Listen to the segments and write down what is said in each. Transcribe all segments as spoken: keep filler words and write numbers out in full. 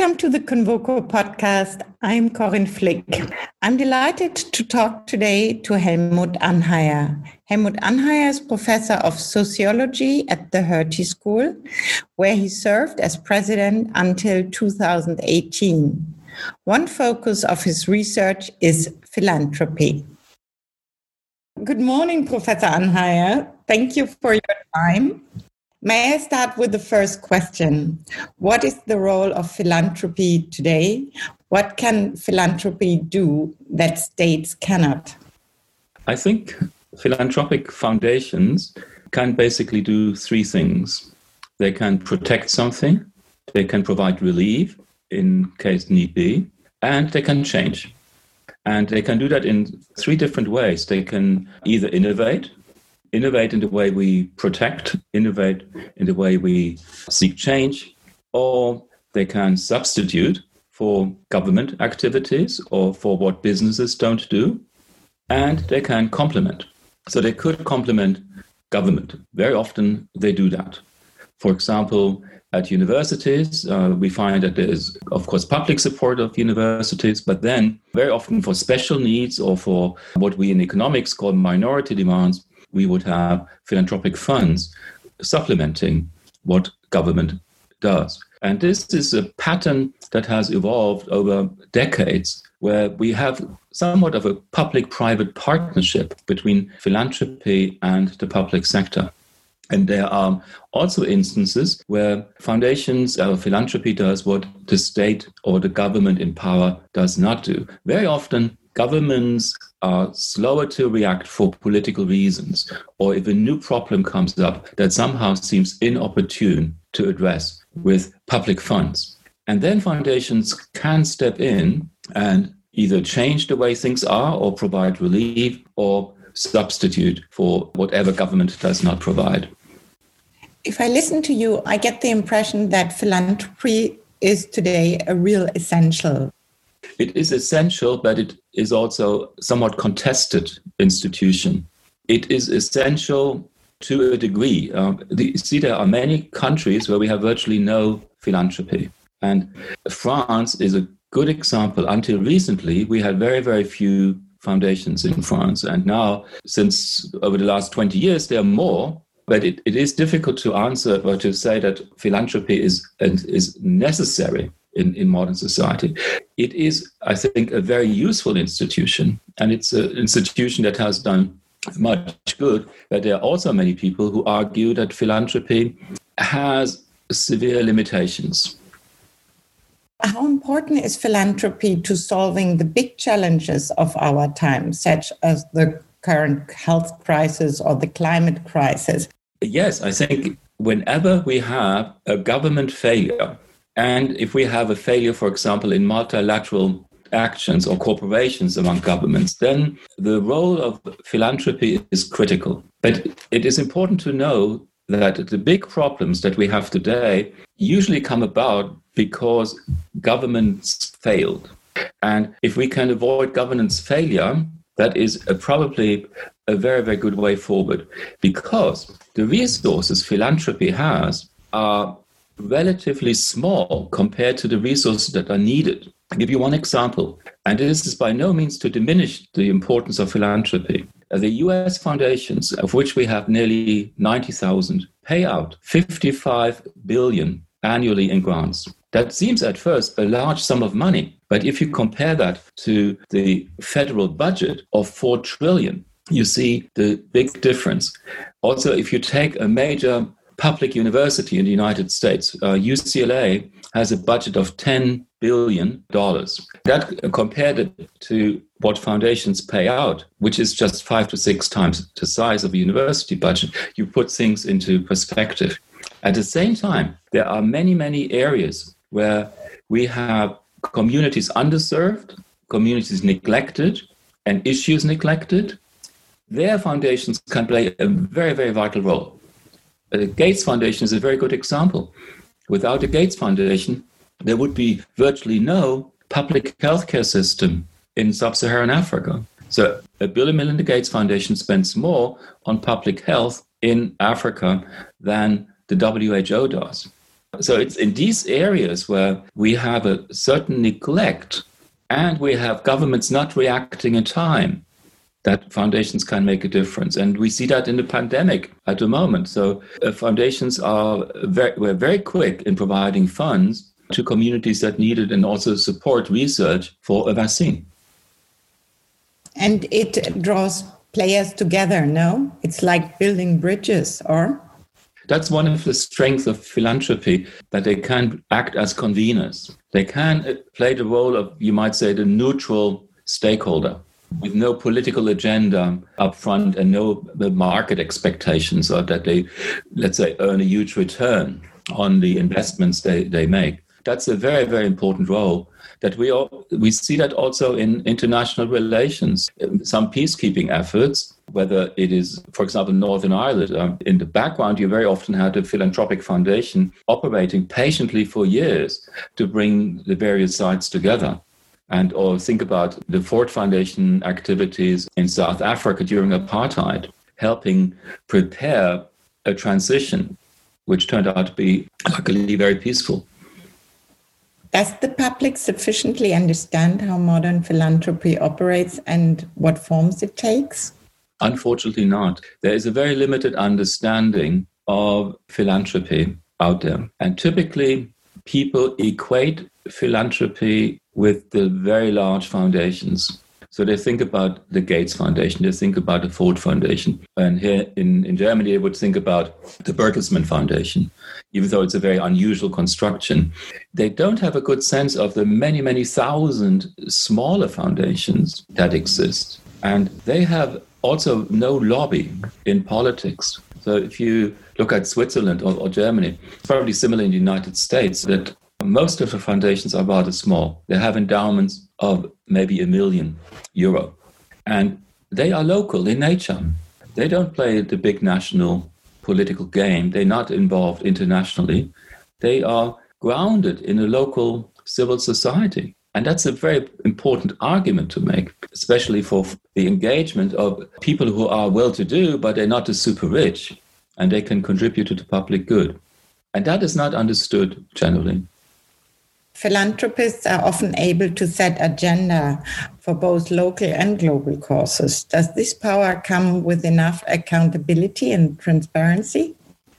Welcome to the Convoco podcast. I'm Corinne Flick. I'm delighted to talk today to Helmut Anheier. Helmut Anheier is professor of sociology at the Hertie School, where he served as president until two thousand eighteen. One focus of his research is philanthropy. Good morning, Professor Anheier. Thank you for your time. May I start with the first question? What is the role of philanthropy today? What can philanthropy do that states cannot? I think philanthropic foundations can basically do three things. They can protect something, they can provide relief in case need be, and they can change. And they can do that in three different ways. They can either innovate, innovate in the way we protect, innovate in the way we seek change, or they can substitute for government activities or for what businesses don't do, and they can complement. So they could complement government. Very often they do that. For example, at universities, uh, we find that there is, of course, public support of universities, but then very often for special needs or for what we in economics call minority demands, we would have philanthropic funds supplementing what government does. And this is a pattern that has evolved over decades, where we have somewhat of a public-private partnership between philanthropy and the public sector. And there are also instances where foundations or philanthropy does what the state or the government in power does not do. Very often, governments are slower to react for political reasons, or if a new problem comes up that somehow seems inopportune to address with public funds. And then foundations can step in and either change the way things are or provide relief or substitute for whatever government does not provide. If I listen to you, I get the impression that philanthropy is today a real essential. It is essential, but it is also somewhat contested institution. It is essential to a degree. Uh, the, see, there are many countries where we have virtually no philanthropy. And France is a good example. Until recently, we had very, very few foundations in France. And now, since over the last twenty years, there are more. But it, it is difficult to answer or to say that philanthropy is, is necessary in, in modern society. It is, I think, a very useful institution, and it's an institution that has done much good. But there are also many people who argue that philanthropy has severe limitations. How important is philanthropy to solving the big challenges of our time, such as the current health crisis or the climate crisis? Yes, I think whenever we have a government failure, and if we have a failure, for example, in multilateral actions or cooperations among governments, then the role of philanthropy is critical. But it is important to know that the big problems that we have today usually come about because governments failed. And if we can avoid governance failure, that is a, probably a very, very good way forward, because the resources philanthropy has are relatively small compared to the resources that are needed. I'll give you one example, and this is by no means to diminish the importance of philanthropy. The U S foundations, of which we have nearly ninety thousand, pay out fifty-five billion annually in grants. That seems at first a large sum of money, but if you compare that to the federal budget of four trillion, you see the big difference. Also, if you take a major public university in the United States, uh, U C L A has a budget of ten billion dollars. That uh, compared to what foundations pay out, which is just five to six times the size of a university budget, you put things into perspective. At the same time, there are many, many areas where we have communities underserved, communities neglected, and issues neglected. Their foundations can play a very, very vital role. The Gates Foundation is a very good example. Without the Gates Foundation, there would be virtually no public healthcare system in sub-Saharan Africa. So a Bill and Melinda Gates Foundation spends more on public health in Africa than the W H O does. So it's in these areas where we have a certain neglect and we have governments not reacting in time that foundations can make a difference. And we see that in the pandemic at the moment. So uh, foundations are very, were very quick in providing funds to communities that needed and also support research for a vaccine. And it draws players together, no? It's like building bridges, or? That's one of the strengths of philanthropy, that they can act as conveners. They can play the role of, you might say, the neutral stakeholder with no political agenda up front and no market expectations or that they, let's say, earn a huge return on the investments they, they make. That's a very, very important role that we all, we see that also in international relations. Some peacekeeping efforts, whether it is, for example, Northern Ireland, um, in the background, you very often had a philanthropic foundation operating patiently for years to bring the various sides together. And or think about the Ford Foundation activities in South Africa during apartheid, helping prepare a transition, which turned out to be luckily very peaceful. Does the public sufficiently understand how modern philanthropy operates and what forms it takes? Unfortunately not. There is a very limited understanding of philanthropy out there. And typically, people equate philanthropy with the very large foundations. So they think about the Gates Foundation, they think about the Ford Foundation. And here in, in Germany, they would think about the Bertelsmann Foundation, even though it's a very unusual construction. They don't have a good sense of the many, many thousand smaller foundations that exist. And they have also no lobby in politics. So if you look at Switzerland or, or Germany, it's probably similar in the United States, that most of the foundations are rather small. They have endowments of maybe a million euro. And they are local in nature. They don't play the big national political game. They're not involved internationally. They are grounded in a local civil society. And that's a very important argument to make, especially for the engagement of people who are well-to-do, but they're not the super rich, and they can contribute to the public good. And that is not understood generally. Philanthropists are often able to set agenda for both local and global causes. Does this power come with enough accountability and transparency?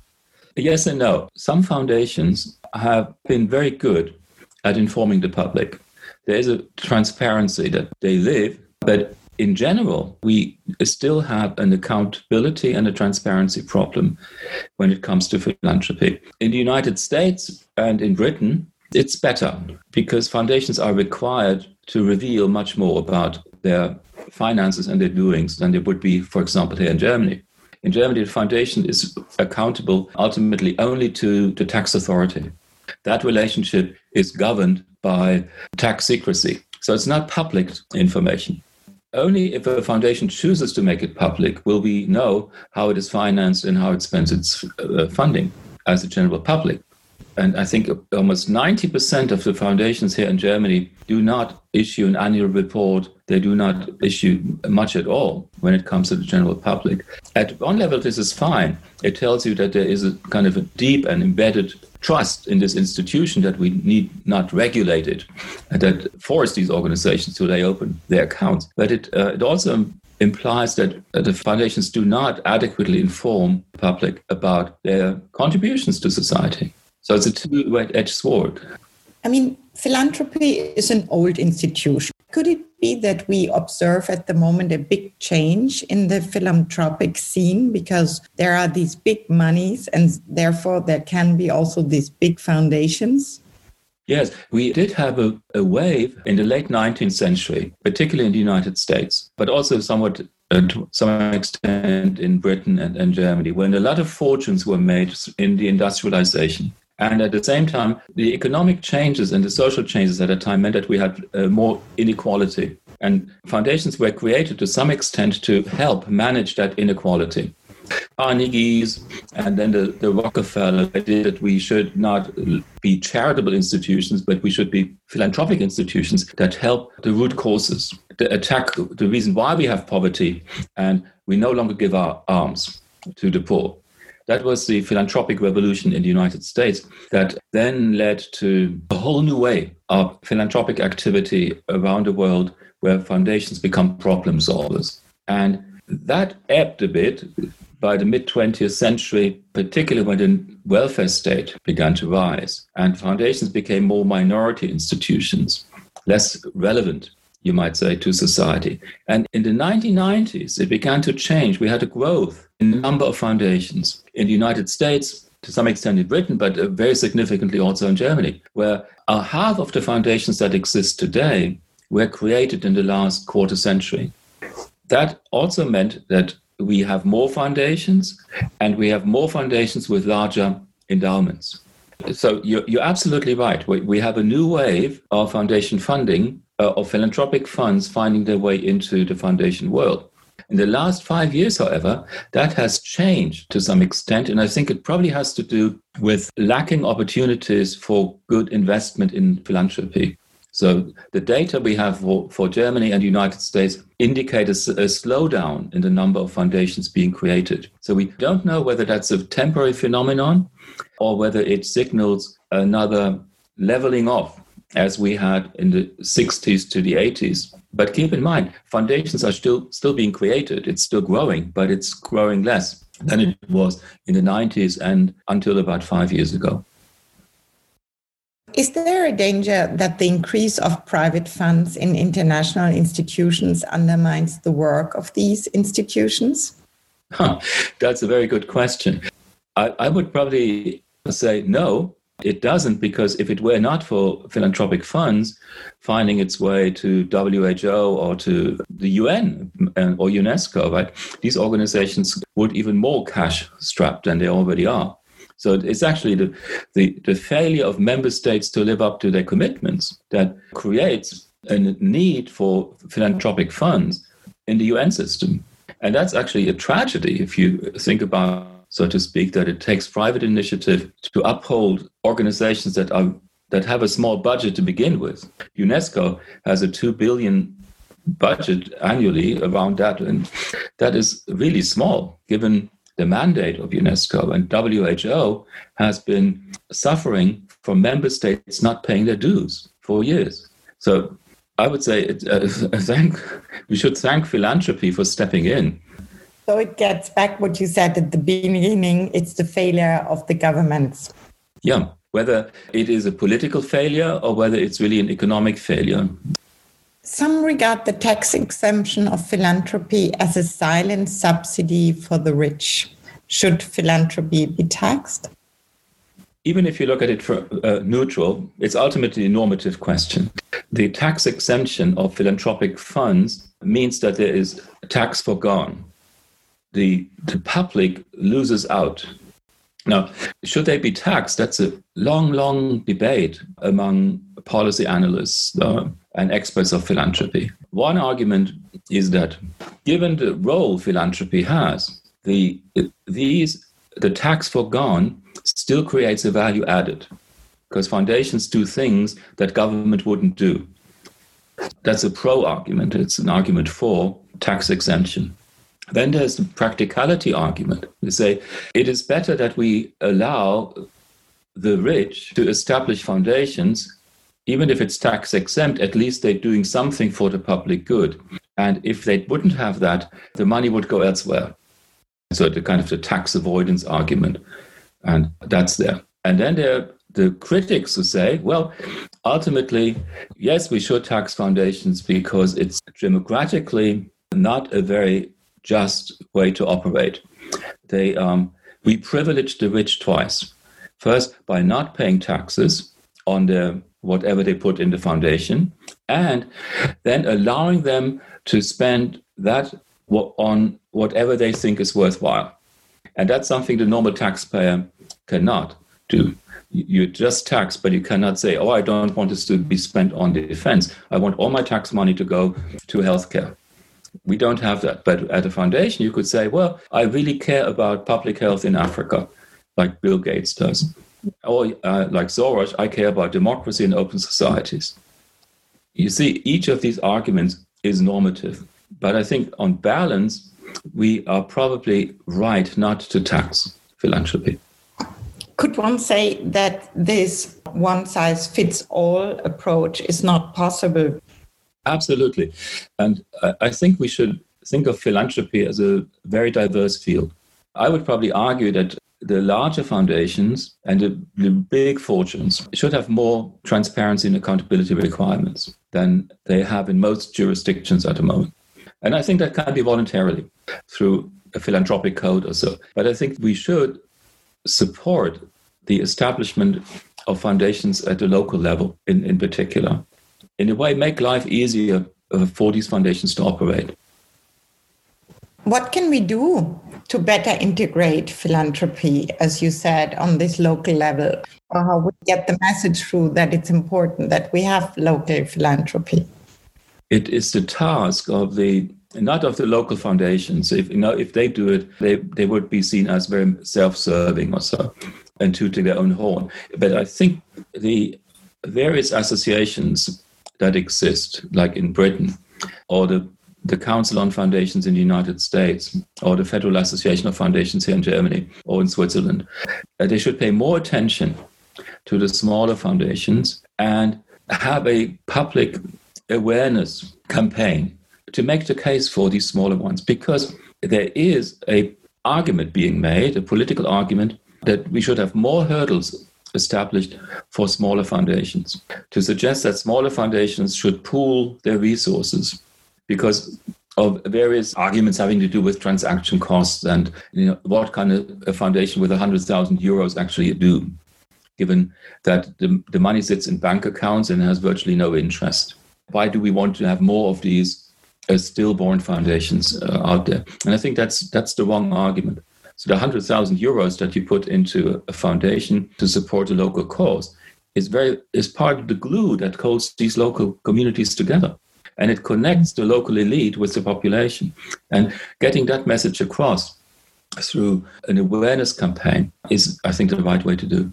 Yes and no. Some foundations have been very good at informing the public. There is a transparency that they live, but in general, we still have an accountability and a transparency problem when it comes to philanthropy. In the United States and in Britain, it's better because foundations are required to reveal much more about their finances and their doings than they would be, for example, here in Germany. In Germany, the foundation is accountable ultimately only to the tax authority. That relationship is governed by tax secrecy. So it's not public information. Only if a foundation chooses to make it public will we know how it is financed and how it spends its uh, funding as the general public. And I think almost ninety percent of the foundations here in Germany do not issue an annual report. They do not issue much at all when it comes to the general public. At one level, this is fine. It tells you that there is a kind of a deep and embedded trust in this institution that we need not regulate it, and that force these organizations to lay open their accounts. But it, uh, it also implies that uh, the foundations do not adequately inform the public about their contributions to society. So it's a two-edged sword. I mean, philanthropy is an old institution. Could it be that we observe at the moment a big change in the philanthropic scene because there are these big monies and therefore there can be also these big foundations? Yes, we did have a, a wave in the late nineteenth century, particularly in the United States, but also somewhat uh, to some extent in Britain and, and Germany, when a lot of fortunes were made in the industrialization. And at the same time, the economic changes and the social changes at that time meant that we had uh, more inequality. And foundations were created to some extent to help manage that inequality. Carnegie's and then the, the Rockefeller idea that we should not be charitable institutions, but we should be philanthropic institutions that help the root causes, to attack the reason why we have poverty, and we no longer give our alms to the poor. That was the philanthropic revolution in the United States that then led to a whole new way of philanthropic activity around the world where foundations become problem solvers. And that ebbed a bit by the mid-twentieth century, particularly when the welfare state began to rise and foundations became more minority institutions, less relevant, you might say, to society. And in the nineteen nineties, it began to change. We had a growth in the number of foundations in the United States, to some extent in Britain, but very significantly also in Germany, where uh, half of the foundations that exist today were created in the last quarter century. That also meant that we have more foundations, and we have more foundations with larger endowments. So you're, you're absolutely right. We, we have a new wave of foundation funding, uh, of philanthropic funds finding their way into the foundation world. In the last five years, however, that has changed to some extent, and I think it probably has to do with lacking opportunities for good investment in philanthropy. So the data we have for, for Germany and the United States indicate a, a slowdown in the number of foundations being created. So we don't know whether that's a temporary phenomenon or whether it signals another leveling off as we had in the sixties to the eighties. But keep in mind, foundations are still still being created. It's still growing, but it's growing less than it was in the nineties and until about five years ago. Is there a danger that the increase of private funds in international institutions undermines the work of these institutions? Huh, that's a very good question. I, I would probably say no, it doesn't, because if it were not for philanthropic funds finding its way to W H O or to the U N or UNESCO, right, these organizations would even more cash strapped than they already are. So it's actually the, the, the failure of member states to live up to their commitments that creates a need for philanthropic funds in the U N system. And that's actually a tragedy if you think about, so to speak, that it takes private initiative to uphold organizations that are that have a small budget to begin with. UNESCO has a two billion budget annually around that, and that is really small given the mandate of UNESCO. And W H O has been suffering from member states not paying their dues for years. So I would say it, uh, thank, we should thank philanthropy for stepping in. So it gets back what you said at the beginning, it's the failure of the governments. Yeah, whether it is a political failure or whether it's really an economic failure. Some regard the tax exemption of philanthropy as a silent subsidy for the rich. Should philanthropy be taxed? Even if you look at it for uh, neutral, it's ultimately a normative question. The tax exemption of philanthropic funds means that there is a tax foregone. The, the public loses out. Now, should they be taxed? That's a long, long debate among policy analysts uh, and experts of philanthropy. One argument is that given the role philanthropy has, the these the tax foregone still creates a value added because foundations do things that government wouldn't do. That's a pro argument. It's an argument for tax exemption. Then there's the practicality argument. They say it is better that we allow the rich to establish foundations, even if it's tax exempt, at least they're doing something for the public good. And if they wouldn't have that, the money would go elsewhere. So the kind of the tax avoidance argument, and that's there. And then there are the critics who say, well, ultimately, yes, we should tax foundations because it's democratically not a very just way to operate. They um, we privilege the rich twice. First, by not paying taxes on their whatever they put in the foundation, and then allowing them to spend that on whatever they think is worthwhile. And that's something the normal taxpayer cannot do. You just tax, but you cannot say, oh, I don't want this to be spent on defense. I want all my tax money to go to healthcare. We don't have that. But at a foundation, you could say, well, I really care about public health in Africa, like Bill Gates does. Or uh, like Soros, I care about democracy and open societies. You see, each of these arguments is normative. But I think on balance, we are probably right not to tax philanthropy. Could one say that this one-size-fits-all approach is not possible? Absolutely. And I think we should think of philanthropy as a very diverse field. I would probably argue that the larger foundations and the, the big fortunes should have more transparency and accountability requirements than they have in most jurisdictions at the moment. And I think that can be voluntarily through a philanthropic code or so. But I think we should support the establishment of foundations at the local level in, in particular. In a way, make life easier uh, for these foundations to operate. What can we do to better integrate philanthropy, as you said, on this local level? Or how would we get the message through that it's important that we have local philanthropy? It is the task of the, not of the local foundations. If you know, if they do it, they, they would be seen as very self-serving or so, and tooting their own horn. But I think the various associations that exist, like in Britain, or the the Council on Foundations in the United States, or the Federal Association of Foundations here in Germany or in Switzerland, uh, they should pay more attention to the smaller foundations and have a public awareness campaign to make the case for these smaller ones, because there is a argument being made, a political argument, that we should have more hurdles established for smaller foundations, to suggest that smaller foundations should pool their resources because of various arguments having to do with transaction costs and, you know, what kind of a foundation with one hundred thousand euros actually do, given that the, the money sits in bank accounts and has virtually no interest. Why do we want to have more of these uh, stillborn foundations uh, out there? And I think that's that's the wrong argument. So the one hundred thousand euros that you put into a foundation to support a local cause is very is part of the glue that holds these local communities together. And it connects the local elite with the population. And getting that message across through an awareness campaign is, I think, the right way to do.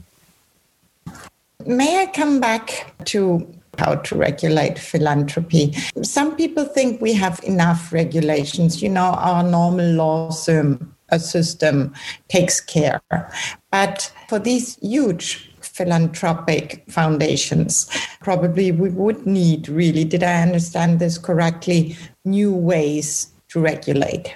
May I come back to how to regulate philanthropy? Some people think we have enough regulations. You know, our normal law system, a system takes care. But for these huge philanthropic foundations, probably we would need, really, did I understand this correctly, new ways to regulate?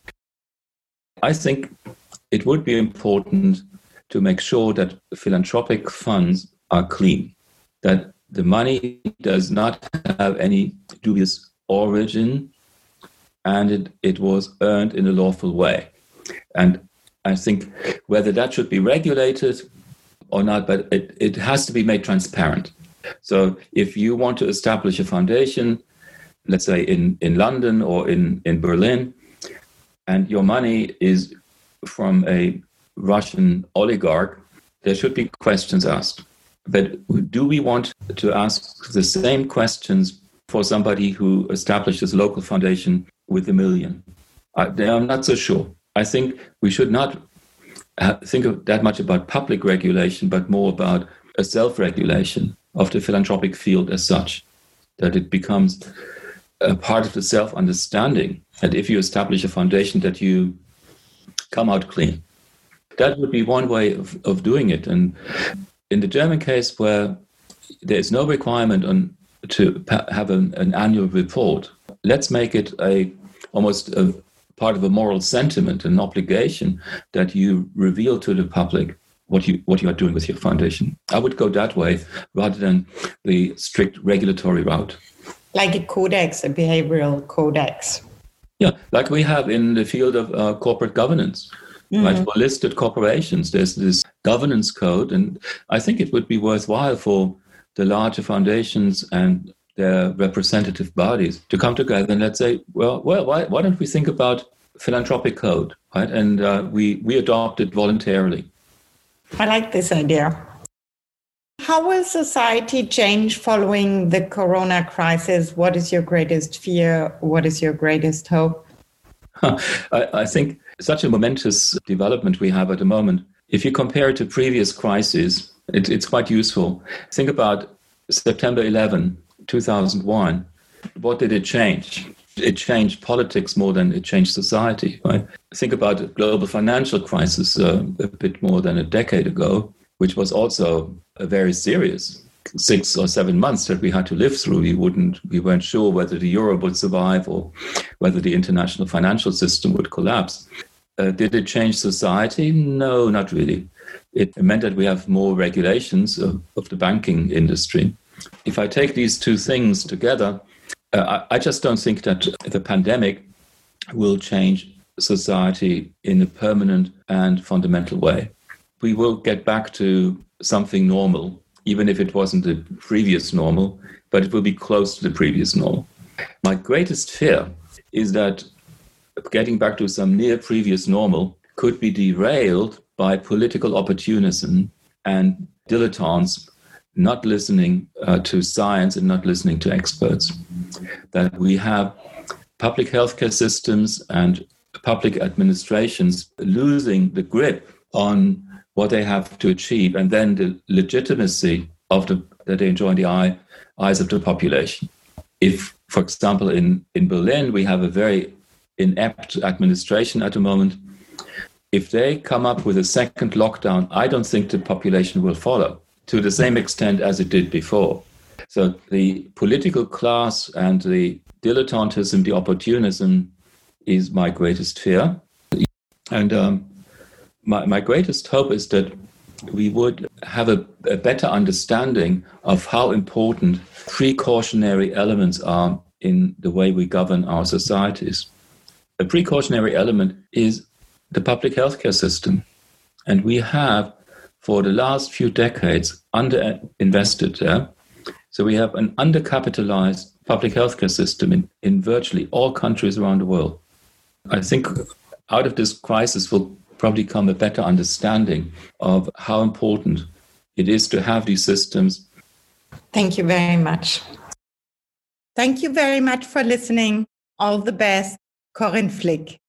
I think it would be important to make sure that philanthropic funds are clean, that the money does not have any dubious origin, and it, it was earned in a lawful way. And I think whether that should be regulated or not, but it, it has to be made transparent. So if you want to establish a foundation, let's say in, in London or in, in Berlin, and your money is from a Russian oligarch, there should be questions asked. But do we want to ask the same questions for somebody who establishes a local foundation with a million? I, I'm not so sure. I think we should not think of that much about public regulation, but more about a self-regulation of the philanthropic field as such, that it becomes a part of the self-understanding. And if you establish a foundation, that you come out clean. That would be one way of, of doing it. And in the German case, where there is no requirement on to have an, an annual report, let's make it a almost a part of a moral sentiment, an obligation that you reveal to the public what you what you are doing with your foundation. I would go that way rather than the strict regulatory route. Like a codex, a behavioral codex. Yeah, like we have in the field of uh, corporate governance. Mm-hmm. Right, for listed corporations, there's this governance code, and I think it would be worthwhile for the larger foundations and their representative bodies to come together and let's say, well, well, why, why don't we think about philanthropic code, right? And uh, we we adopt it voluntarily. I like this idea. How will society change following the corona crisis? What is your greatest fear? What is your greatest hope? I, I think such a momentous development we have at the moment. If you compare it to previous crises, it, it's quite useful. Think about September eleventh, two thousand one. What did it change? It changed politics more than it changed society, right? think about the global financial crisis uh, a bit more than a decade ago, which was also a very serious six or seven months that we had to live through. We wouldn't, we weren't sure whether the euro would survive or whether the international financial system would collapse. Uh, did it change society? No, not really. It meant that we have more regulations of, of the banking industry. If I take these two things together, uh, I, I just don't think that the pandemic will change society in a permanent and fundamental way. We will get back to something normal, even if it wasn't the previous normal, but it will be close to the previous normal. My greatest fear is that getting back to some near previous normal could be derailed by political opportunism and dilettantes not listening uh, to science and not listening to experts. That we have public healthcare systems and public administrations losing the grip on what they have to achieve, and then the legitimacy of the that they enjoy in the eye, eyes of the population. If, for example, in, in Berlin, we have a very inept administration at the moment, if they come up with a second lockdown, I don't think the population will follow to the same extent as it did before. So the political class and the dilettantism, the opportunism is my greatest fear. And um, my, my greatest hope is that we would have a, a better understanding of how important precautionary elements are in the way we govern our societies. A precautionary element is the public healthcare system. And we have, for the last few decades, underinvested there. So we have an undercapitalized public healthcare system in, in virtually all countries around the world. I think out of this crisis will probably come a better understanding of how important it is to have these systems. Thank you very much. Thank you very much for listening. All the best, Corinne Flick.